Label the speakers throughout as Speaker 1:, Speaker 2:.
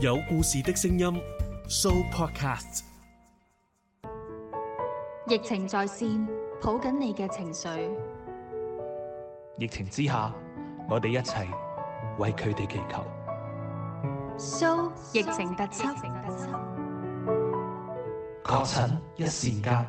Speaker 1: 有故事的聲音 Sooo Podcast。
Speaker 2: 疫情在線，抱緊你嘅情緒。
Speaker 3: 疫情之下，我哋一齊為佢哋祈求。
Speaker 2: Sooo 疫情特輯，
Speaker 3: 確診一線間。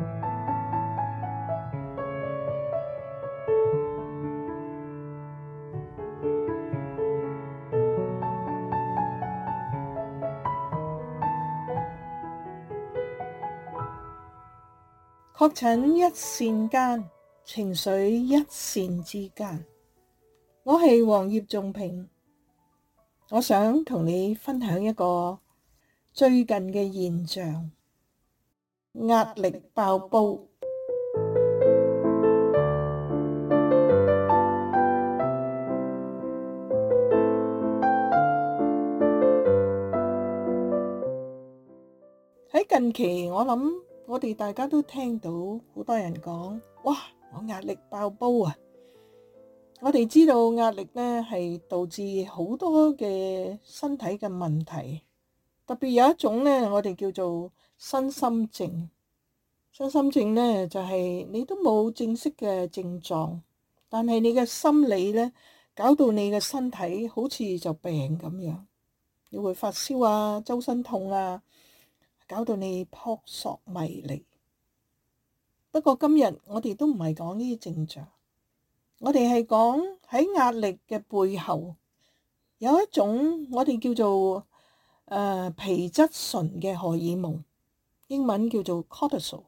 Speaker 4: 確診一線間，情緒一線之間。我係黃葉仲平，我想同你分享一個最近嘅現象：壓力爆煲。喺近期，我諗我哋大家都聽到好多人講，哇！我壓力爆煲啊！我哋知道壓力呢係導致好多嘅身體嘅問題，特別有一種呢，我哋叫做身心症。身心症呢就係你都冇正式嘅症狀，但係你嘅心理呢搞到你嘅身體好似就病咁樣，你會發燒啊、周身痛啊，搞到你撲朔迷離。不過今日我哋都唔係講呢啲症狀，我哋係講喺壓力嘅背後有一種我哋叫做皮質醇嘅荷爾蒙，英文叫做 cortisol。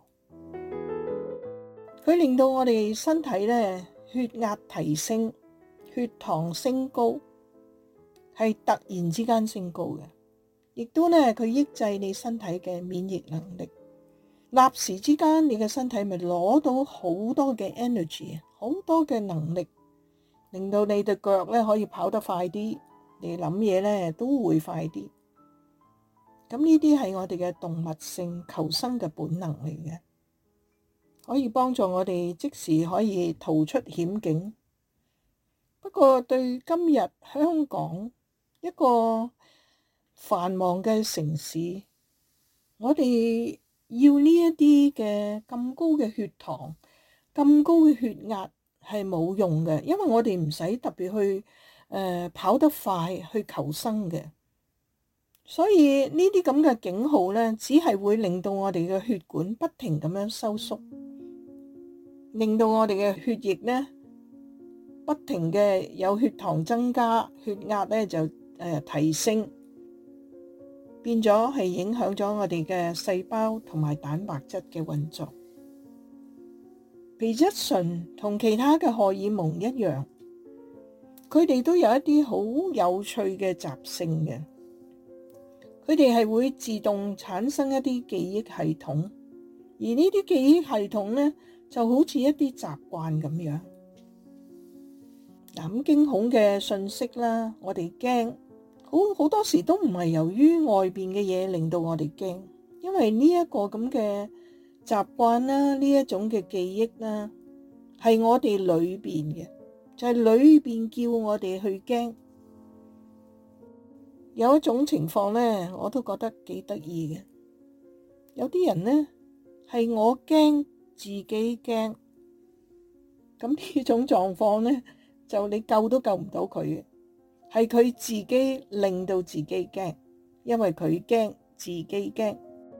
Speaker 4: 佢令到我哋身體咧血壓提升，血糖升高，係突然之間升高嘅，亦都咧佢抑制你身體嘅免疫能力。立時之間，你嘅身體咪攞到好多嘅 energy， 好多嘅能力，令到你對腳咧可以跑得快啲，你諗嘢咧都會快啲。咁呢啲係我哋嘅動物性求生嘅本能嚟嘅，可以幫助我哋即時可以逃出險境。不過對今日香港一個繁忙嘅城市，我哋要呢一啲嘅咁高嘅血糖、咁高嘅血壓係冇用嘅，因為我哋唔使特別去跑得快去求生嘅。所以呢啲咁嘅警號呢，只係會令到我哋嘅血管不停咁樣收縮，令到我哋嘅血液呢不停嘅有血糖增加，血壓呢就提升。變咗係影響咗我哋嘅細胞同埋蛋白質嘅運作。皮質醇同其他嘅荷爾蒙一樣，佢哋都有一啲好有趣嘅習性嘅。佢哋係會自動產生一啲記憶系統，而呢啲記憶系統呢，就好似一啲習慣咁樣。咁驚恐嘅訊息啦，我哋驚。好多時都唔係由於外邊嘅嘢令到我哋驚，因為呢一個咁嘅習慣啦，呢一種嘅記憶啦，係我哋裏邊嘅，就係裏邊叫我哋去驚。有一種情況呢，我都覺得幾得意嘅。有啲人呢，係我驚自己驚，咁呢種狀況呢，就你救都救唔到佢嘅。係佢自己令到自己驚，因為佢驚自己驚。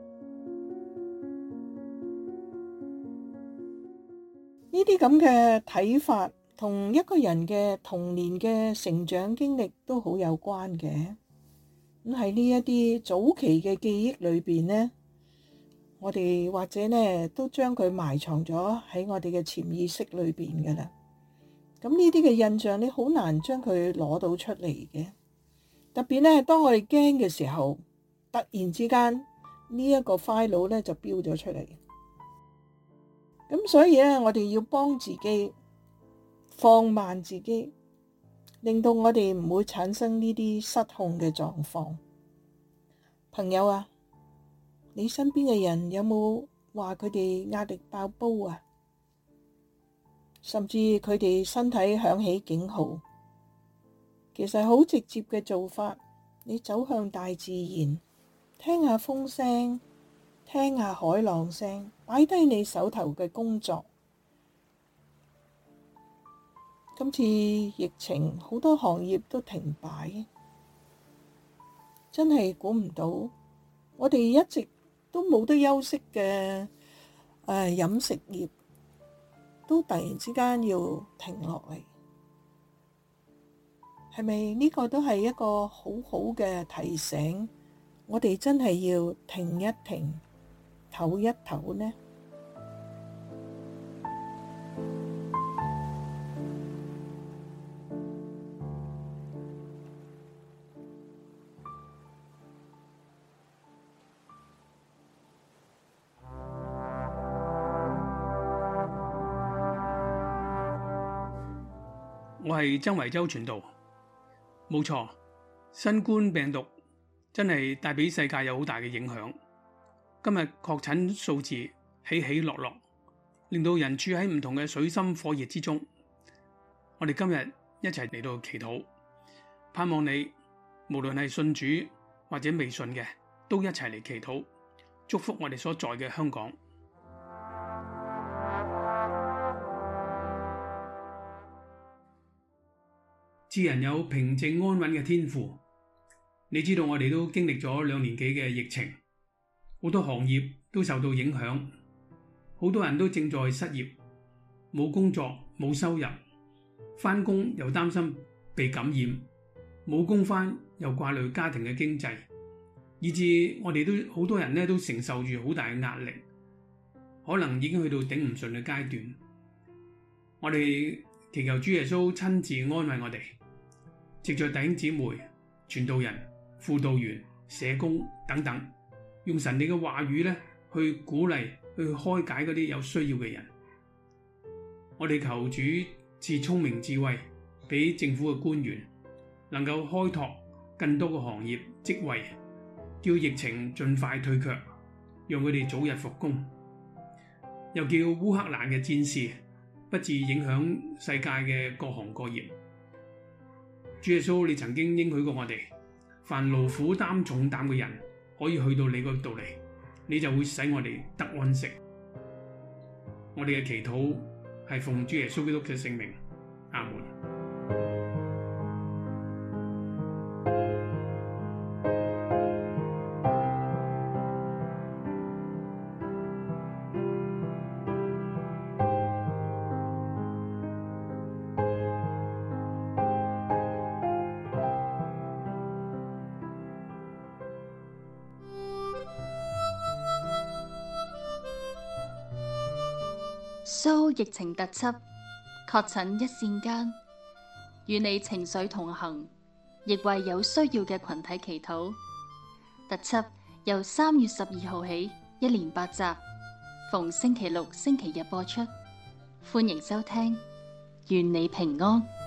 Speaker 4: 呢啲咁嘅睇法同一個人嘅童年嘅成長經歷都好有關嘅。咁喺呢一啲早期嘅記憶裏邊呢，我哋或者呢都將佢埋藏咗喺我哋嘅潛意識裏邊噶啦。咁呢啲嘅印象你好難將佢攞到出嚟嘅，特別呢當我哋驚嘅時候，突然之間呢一個 file 呢就標咗出嚟。咁所以呢，我哋要幫自己放慢自己，令到我哋唔會產生呢啲失控嘅狀況。朋友啊，你身邊嘅人有冇話佢哋壓力爆煲啊？甚至佢哋身體響起警號，其實好直接嘅做法， 你走向大自然，聽下風聲，聽下海浪聲，擺低你手頭嘅工作。今次疫情好多行業都停擺，真係估唔到，我哋一直都冇得休息嘅飲食業都突然之間要停落嚟，係咪呢個都係一個好好嘅提醒？我哋真係要停一停，唞一唞呢？
Speaker 5: 我係曾維洲傳道，冇錯，新冠病毒真係帶俾世界有好大嘅影響。今日確診數字起起落落，令到人處喺唔同嘅水深火熱之中。我哋今日一齊嚟到祈禱，盼望你無論係信主或者未信嘅，都一齊嚟祈禱，祝福我哋所在嘅香港。賜人有平靜安穩嘅天父，你知道我哋都經歷咗2年幾嘅疫情，好多行業都受到影響，好多人都正在失業，冇工作冇收入，返工又擔心被感染，冇工返又掛慮家庭嘅經濟，以致我哋都好多人都承受住好大嘅壓力，可能已經去到頂唔順嘅階段。我哋祈求主耶穌親自安慰我哋，藉着弟兄姊妹、傳道人、輔導員、社工等等，用神你嘅話語去鼓勵、去開解嗰啲有需要嘅人。我哋求主賜聰明智慧俾政府嘅官員，能夠開拓更多嘅行業職位，叫疫情盡快退卻，讓佢哋早日復工。又叫烏克蘭嘅戰事不致影響世界嘅各行各業。主耶穌，你曾經應許過我哋，凡勞苦擔重擔嘅人可以去到你嗰度嚟，你就會使我哋得安息。我哋嘅祈禱係奉主耶穌基督嘅聖名，阿門。
Speaker 2: 蘇疫情特輯，確診一線間，與你情緒同行，亦為有需要嘅群體祈禱。特輯由3月12號起，一連8集，逢星期六、星期日播出。歡迎收聽，願你平安。